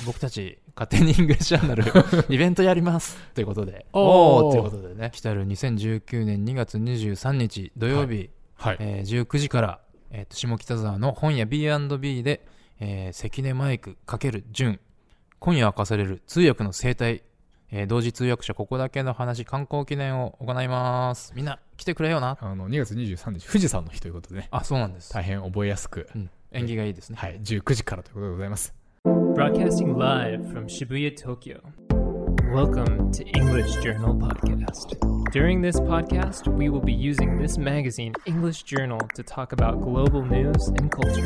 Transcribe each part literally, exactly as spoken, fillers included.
僕たち勝手にイングリッシュチャンネルイベントやりますということでおーということでね、来たるにせんじゅうきゅうねんにがつにじゅうさんにち土曜日、はいはい、えー、じゅうくじから、えー、と下北沢の本屋 ビーアンドビー で、えー、関根マイク×純今夜明かされる通訳の生態、えー、同時通訳者ここだけの話観光記念を行います。みんな来てくれよな。 あのにがつにじゅうさんにち富士山の日ということでね。 あ、そうなんです。 大変覚えやすく、 うん、縁起がいいですね。 はい、じゅうくじからということでございます。 Broadcasting live from Shibuya, Tokyo. Welcome to English Journal Podcast. During this podcast, we will be using this magazine, English Journal, to talk about global news and culture.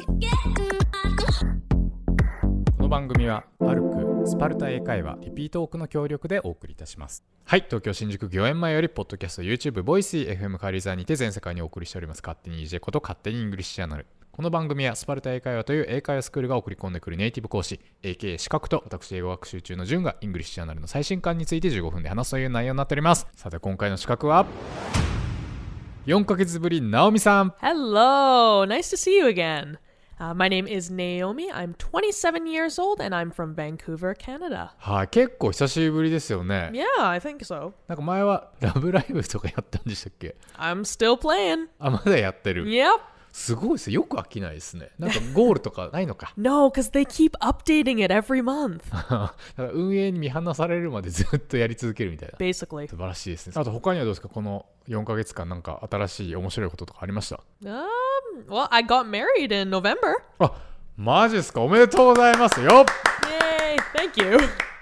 この番組はパルクスパルタ英会話リピートオークの協力でお送りいたします。はい、東京新宿御苑前よりポッドキャスト YouTube ボイシー エフエム カリーザーにて全世界にお送りしております勝手に イージェー こと勝手にイングリッシュチャンネル。この番組はスパルタ英会話という英会話スクールが送り込んでくるネイティブ講師 エーケー 資格と私英語学習中の順がイングリッシュチャンネルの最新刊についてじゅうごふんで話すという内容になっております。さて今回の資格はよんかげつぶりナオミさん。 Hello, nice to see you again.Uh, my name is Naomi. I'm twenty-seven years old and I'm from Vancouver, Canada. はい、結構久しぶりですよね。 Yeah, I think so. なんか前はラブライブとかやったんでしたっけ？ I'm still playing. あ、まだやってる。 Yep. すごいですよ。よく飽きないですね。なんかゴールとかないのか。 No, because they keep updating it every month. だから運営に見放されるまでずっとやり続けるみたいな。 Basically. 素晴らしいですね。あと他にはどうですか？このよんかげつかんなんか新しい面白いこととかありました？ Um, well, I got married in November. あ、マジですか？おめでとうございますよ。 Yay, thank you.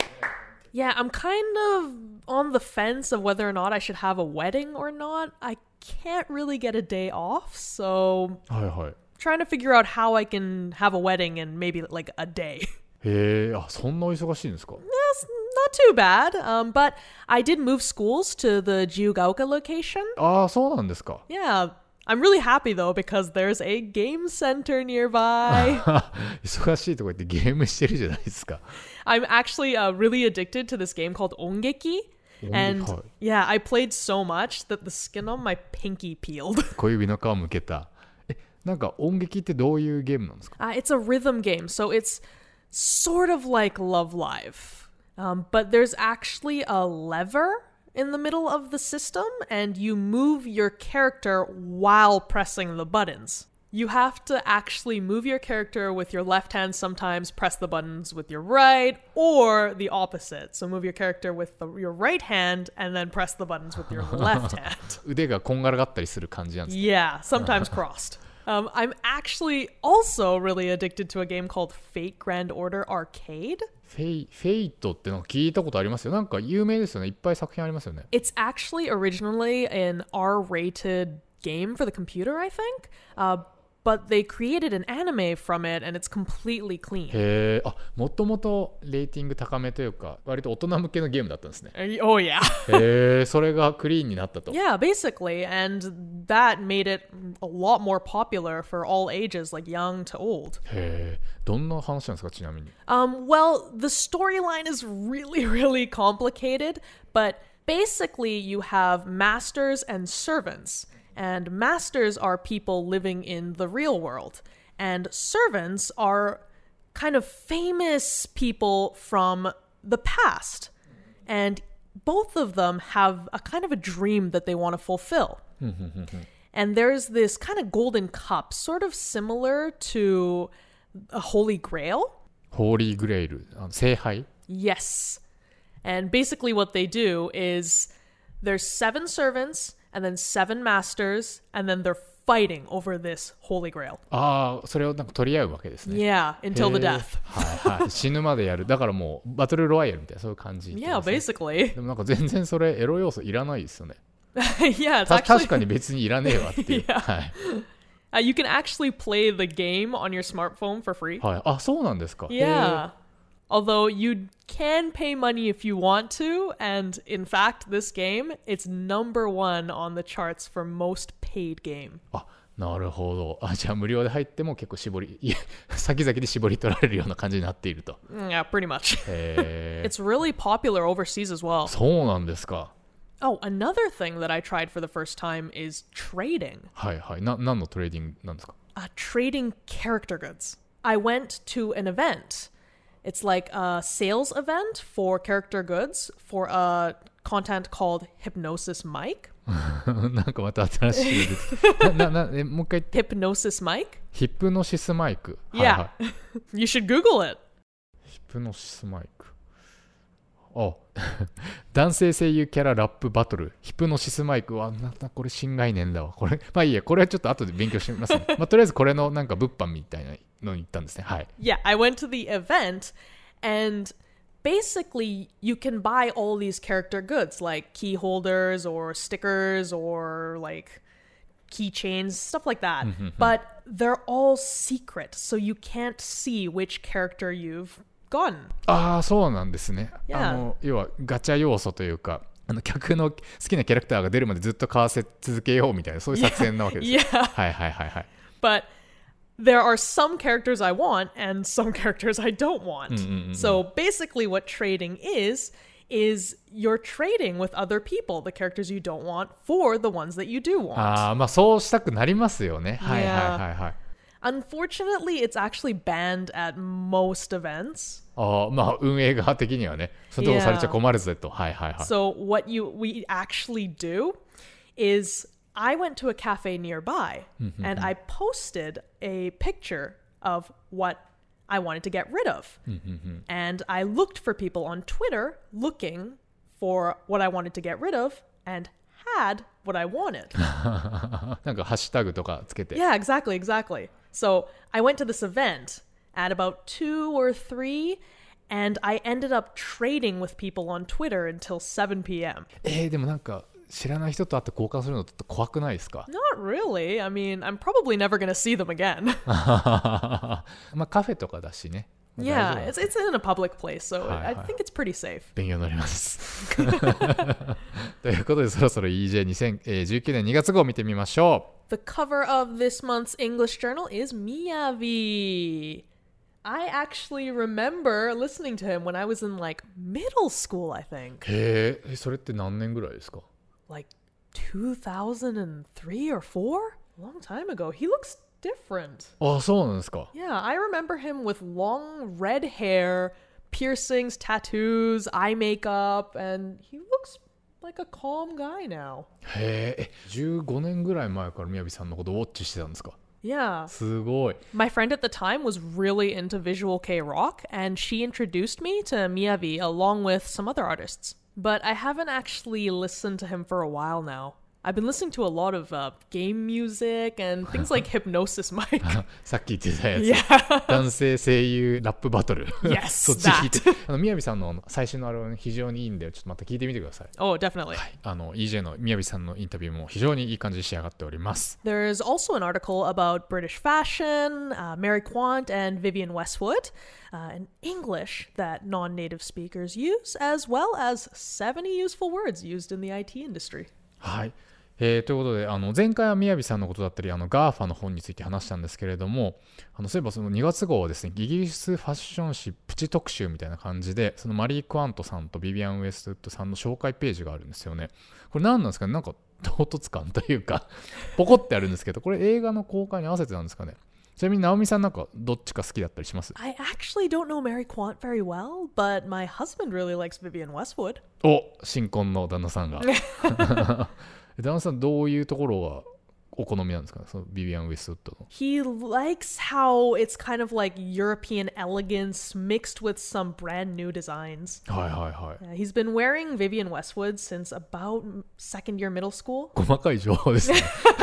Yeah, I'm kind of on the fence of whether or not I should have a wedding or not. I can't really get a day off, so はいはい。 trying to figure out how I can have a wedding in maybe like a day. へえ、あ、そんなお忙しいんですか？ That's not too bad, um, but I did move schools to the Jiugaoka location. ああ、そうなんですか。 Yeah, I'm really happy though because there's a game center nearby. 忙しいとこ行ってゲームしてるじゃないですか。 I'm actually uh, really addicted to this game called Ongeki. And yeah, I played so much that the skin on my pinky peeled. 小指の皮むけた。え、なんか音劇ってどういうゲームなんですか？ Uh, it's a rhythm game, so it's sort of like Love Live. Um, but there's actually a lever in the middle of the system, and you move your character while pressing the buttons. You have to actually move your character with your left hand sometimes, press the buttons with your right, or the opposite. So move your character with the, your right hand and then press the buttons with your left hand. 腕がこんがらがったりする感じなんですか？ Yeah, sometimes crossed. Um, I'm actually also really addicted to a game called Fate Grand Order Arcade. フェイ、フェイトっての聞いたことありますよ。なんか有名ですよね。いっぱい作品ありますよね。 It's actually originally an R-rated game for the computer, I think. Uh, but they created an anime from it and it's completely clean. へえ、あ、もともとレーティング高めというか、割と大人向けのゲームだったんですね。 Oh, yeah. へえ、それがクリーンになったと。 Yeah, basically. And that made it a lot more popular for all ages, like young to old. へえ、どんな話なんですか、ちなみに。 Um, well, the storyline is really, really complicated, but basically you have masters and servants. And masters are people living in the real world. And servants are kind of famous people from the past. And both of them have a kind of a dream that they want to fulfill. And there's this kind of golden cup, sort of similar to a Holy Grail. ホーリーグレイル、あの聖杯。 Yes. And basically what they do is there's seven servants and then seven masters and then they're fighting over this Holy Grail. ああ、それをなんか取り合うわけですね。 Yeah, until the death. はいはい。死ぬまでやる。だからもうバトルロワイヤルみたいなそういう感じ、ね。 Yeah, basically. でもなんか全然それエロ要素いらないですよね。 Yeah, it's た actually... 確かに別にいらねえわっていう。 Yeah. はい。 Uh, you can actually play the game on your smartphone for free. はい。あ、そうなんですか。 Yeah. Although you can pay money if you want to, and in fact, this game, it's number one on the charts for most paid game. あ、なるほど。あ、じゃあ無料で入っても結構絞り、いや、先々で絞り取られるような感じになっていると。 Yeah, pretty much. へー。 It's really popular overseas as well. そうなんですか。 Oh, another thing that I tried for the first time is trading. はいはい。な、何のトレーディングなんですか？ Uh, trading character goods. I went to an event It's like a sales event for character goods for a content called Hypnosis Mic. なんかまた新しいの出てきたななえもう一回言って。 Hypnosis Mic? ヒプノシスマイク。 Yeah. はいはい、 You should Google it. ヒプノシスマイク。あ男性声優キャララップバトルヒプノシスマイクはなんだこれ新概念だわこれ。まあいいや、これはちょっと後で勉強してみますね。まあとりあえずこれのなんか物販みたいなのに行ったんですね。はい。 Yeah, I went to the event and basically you can buy all these character goods like key holders or stickers or like keychains, stuff like that. But they're all secret, so you can't see which character you've gotten. ああ、そうなんですね。 Yeah. あの要はガチャ要素というか、あの客の好きなキャラクターが出るまでずっと買わせ続けようみたいな、そういう作戦なわけですよ。 Yeah. はいはいはいはい。 But there are some characters I want and some characters I don't want. So basically what trading is, is you're trading with other people, the characters you don't want for the ones that you do want. ああ、まあそうしたくなりますよね。はいはいはいはい。 Unfortunately, it's actually banned at most events. ああ、まあ運営側的にはね、それともされちゃ困るぜと。はいはいはい。 So what you we actually do is I went to a cafe nearby and I posted a picture of what I wanted to get rid of. And I looked for people on Twitter looking for what I wanted to get rid of and had what I wanted. なんかハッシュタグとかつけて。 Yeah, exactly, exactly. So I went to this event at about two or three and I ended up trading with people on Twitter until seven p.m. えー、でもなんか知らない人と会って交換するのって怖くないですか？ Not really. I mean, I'm probably never going to see them again. まあカフェとかだしね。 Yeah, it's, it's in a public place, so I think it's pretty safe. 勉強になります。ということでそろそろ イージェーにせんじゅうきゅう 年にがつ号を見てみましょう。The cover of this month's English journal is Miyavi. I actually remember listening to him when I was in like middle school, I think. へえ、それって何年ぐらいですか ？Like two thousand three or four? A long time ago. He looks different. あ、そうなんですか。 Yeah, I remember him with long red hair, piercings, tattoos, eye makeup, and he looks like a calm guy now. へえ、じゅうごねんぐらい前から宮城さんのことをウォッチしてたんですか ？Yeah. すごい。 My friend at the time was really into visual K-rock, and she introduced me to Miyavi along with some other artists. But I haven't actually listened to him for a while now. I've been listening to a lot of uh, game music and things like Hypnosis Mic. さっき言ってたやつ。 Yeah. 男性声優ラップバトル。 Yes, そっち聞いて。あの宮城さんの最新のアルバム非常にいいんで、ちょっとまた聞いてみてください。 Oh, definitely. はい。あの イージェー の宮城さんのインタビューも非常にいい感じに仕上がっております。 There's also an article about British fashion, uh, Mary Quant and Vivienne Westwood, uh, and English that non-native speakers use, as well as seventy useful words used in theアイティー industry. はい。えー、ということであの前回は宮城さんのことだったりあの ガーファ の本について話したんですけれども、あのそういえばそのにがつ号はですね、イギリスファッション誌プチ特集みたいな感じで、そのマリー・クワントさんとビビアン・ウエストウッドさんの紹介ページがあるんですよね。これ何なんですかね、なんか唐突感というかポコってあるんですけど、これ映画の公開に合わせてなんですかね。ちなみに直美さんなんかどっちか好きだったりします？ I actually don't know Mary Quant very well, but my husband really likes Vivienne Westwood. お、新婚の旦那さんが旦那さんどういうところがお好みなんですかね、そのビビアン・ウェストウッドの。 He likes how it's kind of like European elegance mixed with some brand new designs. はいはいはい。 Uh, he's been wearing Vivienne Westwood since about second year middle school. 細かい情報ですね。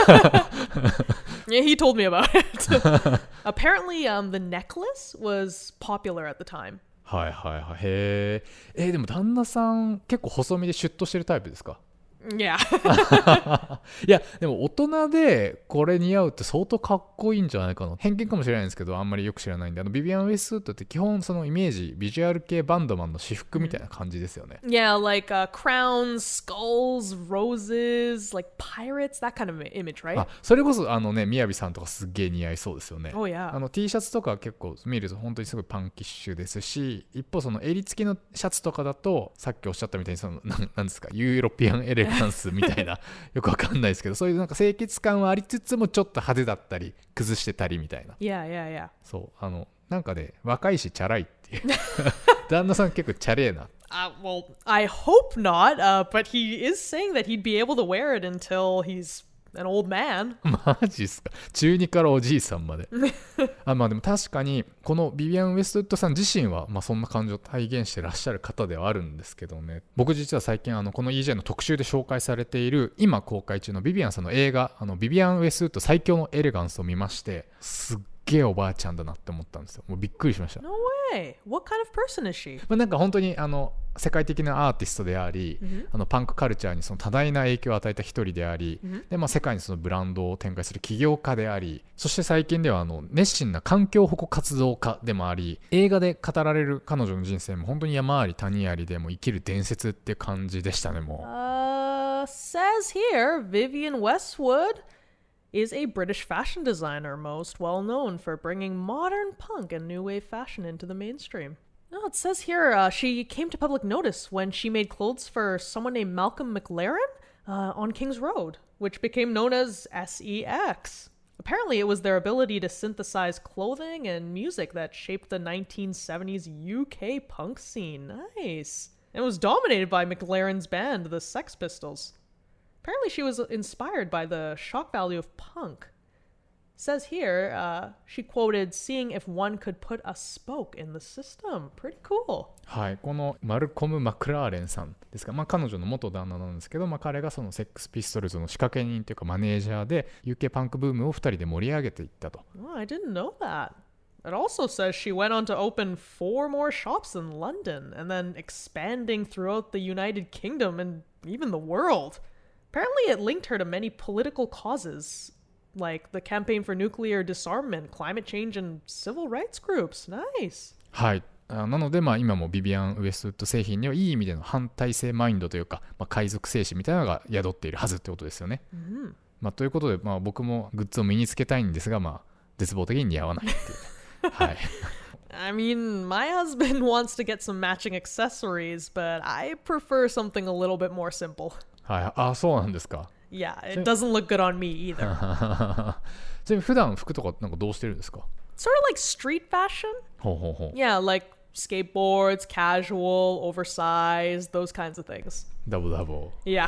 Yeah, he told me about it. Apparently, um, the necklace was popular at the time. はいはいはい。へえ。えー、でも旦那さん結構細身でシュッとしてるタイプですか ？Yeah. いやでも大人でこれ似合うって相当かっこいいんじゃないかな。偏見かもしれないんですけどあんまりよく知らないんで、あのビビアン・ウェストウッドって基本そのイメージビジュアル系バンドマンの私服みたいな感じですよね。 Yeah, like、uh, crowns, skulls, roses, like pirates, that kind of image, right? あ、それこそあのね、みやびさんとかすっげえ似合いそうですよね。 Oh yeah. あの T シャツとか結構見ると本当にすごいパンキッシュですし、一方その襟付きのシャツとかだとさっきおっしゃったみたいにそのななんですか、ユーロピアンエレガンスみたいなよくわかんないですけど、そういうなんか清潔感はありつつもちょっと派手だったり崩してたりみたいな。 Yeah, yeah, yeah. そうあのなんかね、若いしチャラいってっていう旦那さん結構チャレーな。 Uh, well, I hope not, uh, but he is saying that he'd be able to wear it until he's an oold man. マジっすか。中にからおじいさんまであ、まあでも確かにこのビビアン・ウェストウッドさん自身は、まあ、そんな感情を体現してらっしゃる方ではあるんですけどね。僕実は最近あのこの イージェー の特集で紹介されている今公開中のビビアンさんの映画、あのビビアン・ウェストウッド最強のエレガンスを見まして、すっげえおばあちゃんだなって思ったんですよ。もうびっくりしました。 No way. What kind of person is she? まあ、なんか本当にあの世界的なアーティストであり、mm-hmm. あのパンクカルチャーにその多大な影響を与えた一人であり、mm-hmm. でまあ、世界にそのブランドを展開する起業家であり、そして最近ではあの熱心な環境保護活動家でもあり、映画で語られる彼女の人生も本当に山あり谷ありでも生きる伝説って感じでしたね。もう、 uh, says here Vivienne Westwood is a British fashion designer most well known for bringing modern punk and new wave fashion into the mainstream. No, it says here uh, she came to public notice when she made clothes for someone named Malcolm McLaren uh, on King's Road, which became known as S E X. Apparently, it was their ability to synthesize clothing and music that shaped the nineteen seventies U K punk scene. Nice. It was dominated by McLaren's band, the Sex Pistols. Apparently, she was inspired by the shock value of punk. Says here, uh, she quoted, seeing if one could put a spoke in the system. Pretty cool. はい、このマルコム・マクラーレンさんですか、まあ、彼女の元旦那なんですけど、まあ、彼がそのセックスピストルズの仕掛け人というかマネージャーで ユーケー パンクブームをふたりで盛り上げていったと。 Oh, I didn't know that. It also says she went on to open four more shops in London and then expanding throughout the United Kingdom and even the world. Apparently, it linked her to many political causes, like the campaign for nuclear disarmament, climate change, and civil rights groups. Nice. はい。なので、まあ、今もビビアン・ウェストウッド製品にはいい意味での反体制マインドというか、まあ、海賊精神みたいなのが宿っているはずってことですよね。 Mm-hmm. まあ、ということで、まあ、僕もグッズを身につけたいんですが、まあ、絶望的に似合わないっていう、はい。 I mean, my husband wants to get some matching accessories, but I prefer something a little bit more simple. はい、あ、そうなんですか。 Yeah, it doesn't look good on me either. ちなみに普段服とかなんかどうしてるんですか？ Sort of like street fashion. ほうほうほう。 Yeah, like skateboards, casual, oversized, those kinds of things. Double double. Yeah.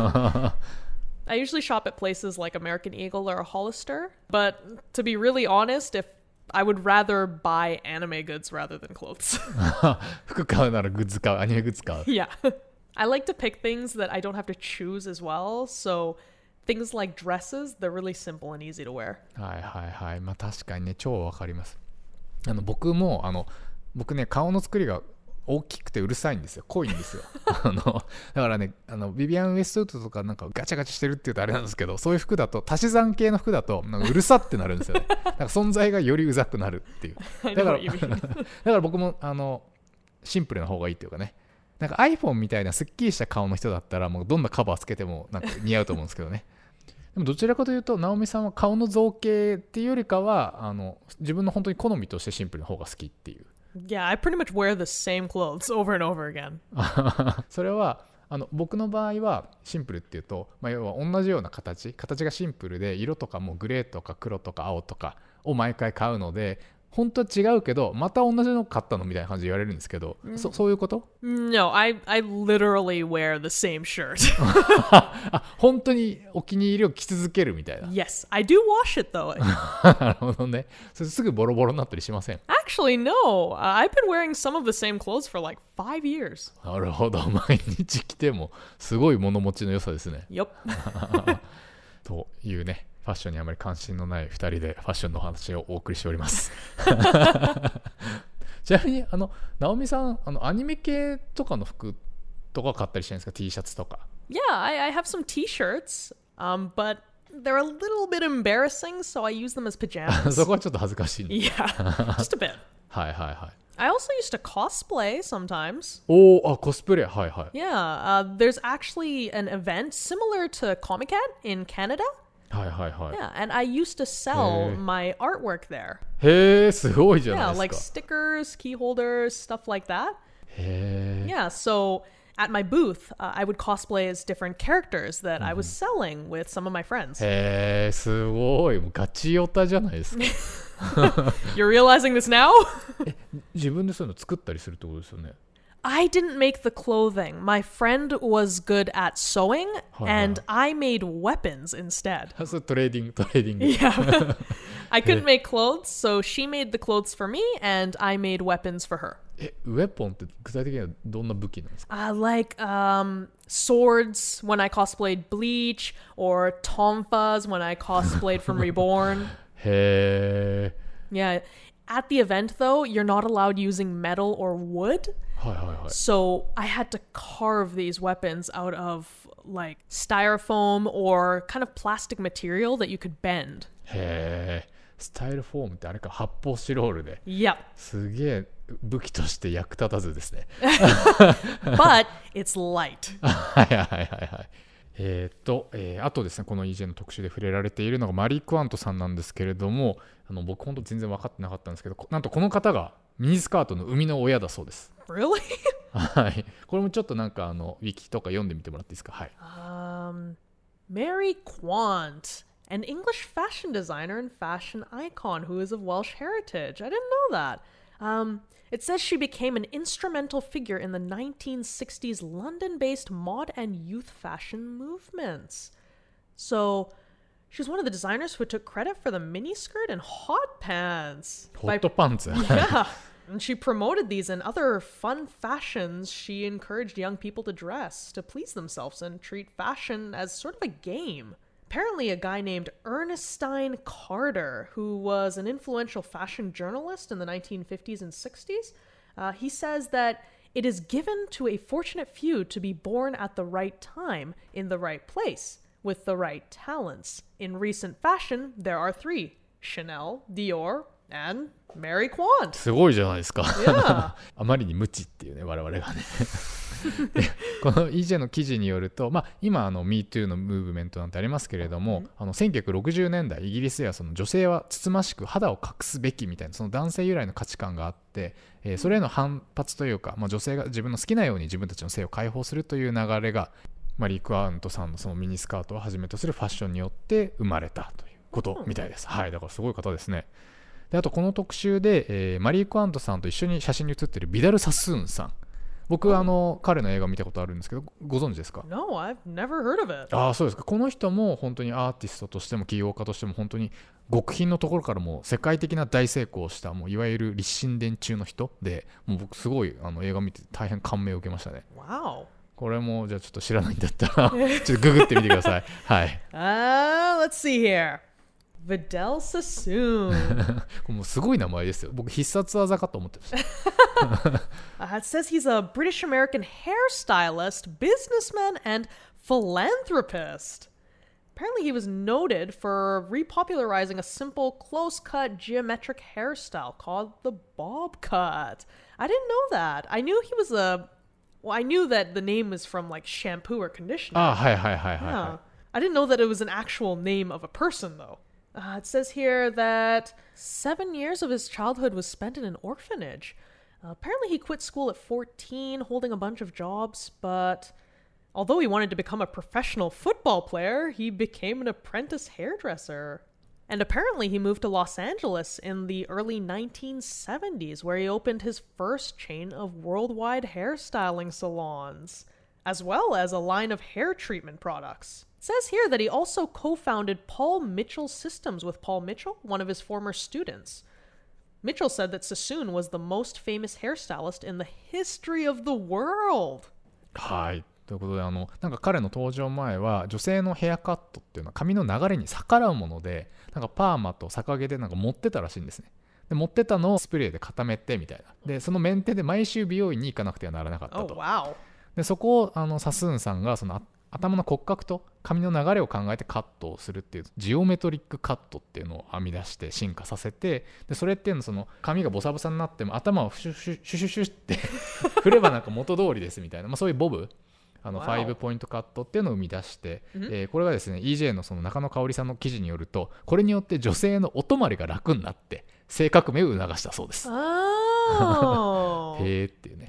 I usually shop at places like American Eagle or Hollister, but to be really honest, if I would rather buy anime goods rather than clothes. 服買うならグッズ買う、アニメグッズ買う。 Yeah. I like to pick things that I don't have to choose as well, so things like dresses, they're really simple and easy to wear. はいはいはい。まあ確かにね、超わかります。あの僕もあの僕ね、顔の作りが大きくてうるさいんですよ。濃いんですよ。あのだからね、あのビビアン・ウェストウッドとかなんかガチャガチャしてるって言うとあれなんですけど、そういう服だと足し算系の服だとなんかうるさってなるんですよね。なんか存在がよりうざくなるっていう。だからだから僕もあのシンプルな方がいいっていうかね。なんか iPhone みたいなすっきりした顔の人だったらもうどんなカバーつけてもなんか似合うと思うんですけどね。でもどちらかというと直美さんは顔の造形っていうよりかはあの自分の本当に好みとしてシンプルな方が好きっていう。 Yeah, I pretty much wear the same clothes over and over again. それはあの僕の場合はシンプルっていうと、まあ、要は同じような形形がシンプルで色とかもグレーとか黒とか青とかを毎回買うので本当は違うけどまた同じの買ったのみたいな感じで言われるんですけど、mm. そ, そういうこと No, I, I literally wear the same shirt. あ、本当にお気に入りを着続けるみたいな。 Yes, I do wash it though. なるほどね。それすぐボロボロになったりしません？ Actually, no. Uh, I've been wearing some of the same clothes for like five years. なるほど。毎日着てもすごい物持ちの良さですね。 Yup. というね。ファッションにあまり関心のないふたりでファッションのお話をお送りしておりますちなみにあの直美さんあのアニメ系とかの服とか買ったりしてるんですか？ T シャツとか。 Yeah, I, I have some T-shirts, um, but they're a little bit embarrassing, so I use them as pajamas. そこはちょっと恥ずかしい、ね、 Yeah, just a bit. はいはいはい。 I also used to cosplay sometimes. おー、あ、コスプレ、はいはい。 Yeah, uh, there's actually an event similar to Comic-Con in Canada. はいはいはい。 Yeah, and I used to sell my artwork there. へー、すごいじゃないですか。 Yeah, like stickers, key holders, stuff like that. へー。 Yeah, so at my booth, uh, I would cosplay as different characters that I was selling with some of my friends. へえ、すごい。もうガチオタじゃないですか。 You're realizing this now? 自分でそういうの作ったりするってことですよね。 I didn't make the clothing. My friend was good at sewing, and I made weapons instead. それトレーディング、トレーディング。 Yeah. I couldn't make clothes, so she made the clothes for me, and I made weapons for her. え、ウェポンって具体的にはどんな武器なんですか？ Uh, like um, swords when I cosplayed Bleach, or tonfas when I cosplayed from Reborn. へえ。 Yeah. At the event, though, you're not allowed using metal or wood. はいはいはい。 So I had to carve these weapons out of like styrofoam or kind of plastic material that you could bend. へえ。スタイルフォームってあれか、発泡スチロールで。 Yep. すげえ武器として役立たずですね。 But it's light. はいはいはいはい。えー、っと、えー、あとですね、この イージェー の特集で触れられているのがマリー・クワントさんなんですけれども、あの僕本当全然分かってなかったんですけど、なんとこの方がミニスカートの生みの親だそうです。 Really? はい。これもちょっとなんかあのウィキとか読んでみてもらっていいですか。はい。 Um, Mary Quant, an English fashion designer and fashion icon who is of Welsh heritage. I didn't know that. Um, it says she became an instrumental figure in the nineteen sixties London-based mod and youth fashion movements. So she's one of the designers who took credit for the miniskirt and hot pants. ホットパンツ。 Yeah. And she promoted these and other fun fashions. She encouraged young people to dress, to please themselves, and treat fashion as sort of a game. Apparently, a guy named Ernestine Carter, who was an influential fashion journalist in the nineteen fifties and sixties, uh, he says that it is given to a fortunate few to be born at the right time, in the right place, with the right talents. In recent fashion, there are three: Chanel, Dior, and Mary Quant. すごいじゃないですか。 Yeah. あまりに無知っていうね、我々がね。この イージェー の記事によると、まあ、今あの ミートゥー のムーブメントなんてありますけれども、うん、あのせんきゅうひゃくろくじゅうねんだいイギリスではその女性はつつましく肌を隠すべきみたいなその男性由来の価値観があって、えー、それへの反発というか、まあ、女性が自分の好きなように自分たちの性を解放するという流れがマリー・クワントさんのそのミニスカートをはじめとするファッションによって生まれたということみたいです、うん、はい。だからすごい方ですね。であとこの特集で、えー、マリー・クワントさんと一緒に写真に写っているビダル・サスーンさん、僕はあの彼の映画を見たことあるんですけど、ご存知ですか？ No, I've never heard of it. ああ、そうですか。この人も本当にアーティストとしても起業家としても本当に極貧のところからも世界的な大成功をしたもういわゆる立身伝中の人で、もう僕すごいあの映画を見て大変感銘を受けましたね。 Wow. これもじゃあちょっと知らないんだったらちょっとググってみてください。はい。 Uh, let's see here. Vidal Sassoon. もうすごい名前ですよ。僕必殺技かと思ってました。 uh, it says he's a British American hairstylist, businessman, and philanthropist. Apparently, he was noted for repopularizing a simple, close-cut, geometric hairstyle called the bob cut. I didn't know that. I knew he was a... Well, I knew that the name was from, like, shampoo or conditioner. あ、はいはいはいはい、はい。 Yeah. I didn't know that it was an actual name of a person, though. Uh, it says here that seven years of his childhood was spent in an orphanage. Uh, apparently, he quit school at fourteen, holding a bunch of jobs, but although he wanted to become a professional football player, he became an apprentice hairdresser. And apparently, he moved to Los Angeles in the early nineteen seventies, where he opened his first chain of worldwide hairstyling salons, as well as a line of hair treatment products. It says here that he also co-founded Paul Mitchell Systems with Paul Mitchell, one of his former students. Mitchell said that Sassoon was the most famous hairstylist in the history of the world. はい。ということで、あのなんか彼の登場前は女性のヘアカットっていうのは髪の流れに逆らうもので、なんかパーマと逆毛でなんか持ってたらしいんですね。で持ってたのをスプレーで固めてみたいな。でそのメンテで毎週美容院に行かなくてはならなかったと。 Oh, wow. でそこをあのサスーンさんがその頭の骨格と髪の流れを考えてカットをするっていうジオメトリックカットっていうのを編み出して進化させて、でそれっていうのはその髪がボサボサになっても頭をシュシュシュシュシュって振ればなんか元通りですみたいな、まあ、そういうボブあのファイブポイントカットっていうのを生み出して、えー、これがですね イージェー のその中野香織さんの記事によると、これによって女性のお泊まりが楽になって性革命を促したそうです。 Oh. へーっていうね。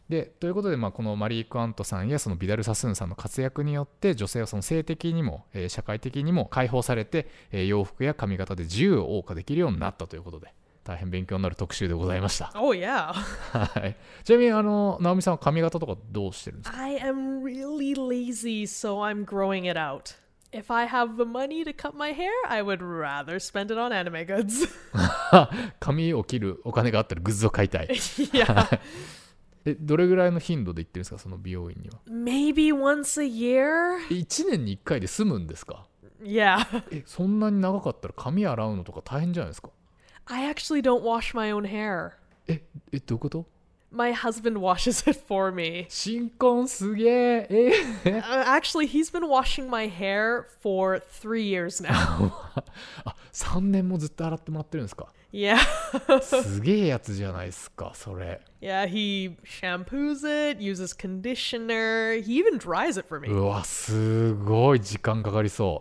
でということで、まあ、このマリー・クワントさんやそのビダル・サスーンさんの活躍によって女性はその性的にも、えー、社会的にも解放されて、えー、洋服や髪型で自由を謳歌できるようになったということで、大変勉強になる特集でございました。 Oh yeah. はい。ちなみにあの直美さんは髪型とかどうしてるんですか？ I am really lazy, so I'm growing it out. If I have the money to cut my hair, I would rather spend it on anime goods. 髪を切るお金があったらグッズを買いたい。 Yeah. え、どれぐらいの頻度で行ってるんですか、その美容院には。 Maybe once a year? いちねんにいっかいで済むんですか？ Yeah. え、そんなに長かったら髪洗うのとか大変じゃないですか？ I actually don't wash my own hair. え、え、どういうこと？ My husband washes it for me. 新婚すげえ。え uh, actually, he's been washing my hair for three years now. あ、さんねんもずっと洗ってもらってるんですか？ Yeah. すげえやつじゃないですか、それ。 Yeah, he shampoos it, uses conditioner. He even dries it for me. うわ、すごい時間かかりそう。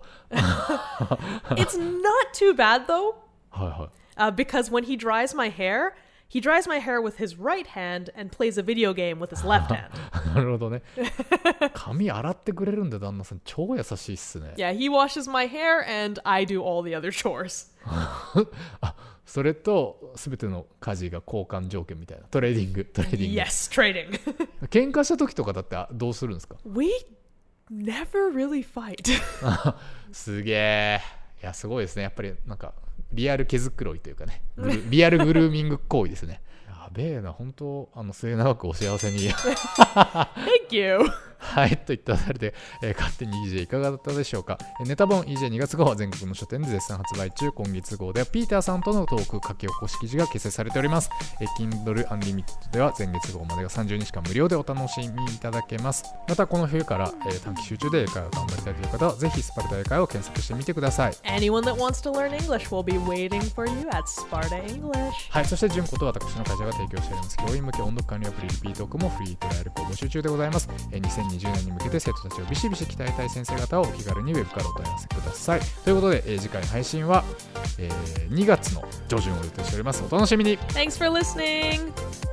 It's not too bad though. はいはい。 Uh, because when he dries my hair, he dries my hair with his right hand and plays a video game with his left hand. なるほどね。髪洗ってくれるんで旦那さん超優しいっすね。 Yeah, he washes my hair and I do all the other chores. あ、それと全ての家事が交換条件みたいな。トレーディング、トレーディング。 Yes, trading. 喧嘩した時とかだってどうするんですか？ We never really fight. すげえ。いや、すごいですね。やっぱりなんかリアル毛づくろいというかね、リアルグルーミング行為ですね。やべえな、本当あの末永くお幸せに。 Thank you. はい、といったあたりで、えー、勝手に イージェー いかがだったでしょうか。ネタ本 イージェーに 月号は全国の書店で絶賛発売中。今月号ではピーターさんとのトーク書き起こし記事が掲載されております。えー、Kindle Unlimited では前月号までがさんじゅうにちかん無料でお楽しみいただけます。またこの冬から、えー、短期集中で英会話を頑張りたいという方はぜひスパルタ英会話を検索してみてください。 Anyone that wants to learn English will be waiting for you at Sparta English. はい、そして純子と私の会社が提供しております教員向け音読管理アプリリピートークもフリートライアル募集中でございます。えー、にせんにじゅうねんに向けて生徒たちをビシビシ鍛えたい先生方はお気軽にウェブからお問い合わせください。ということで、えー、次回の配信は、えー、にがつの上旬を予定しております。お楽しみに。 Thanks for listening.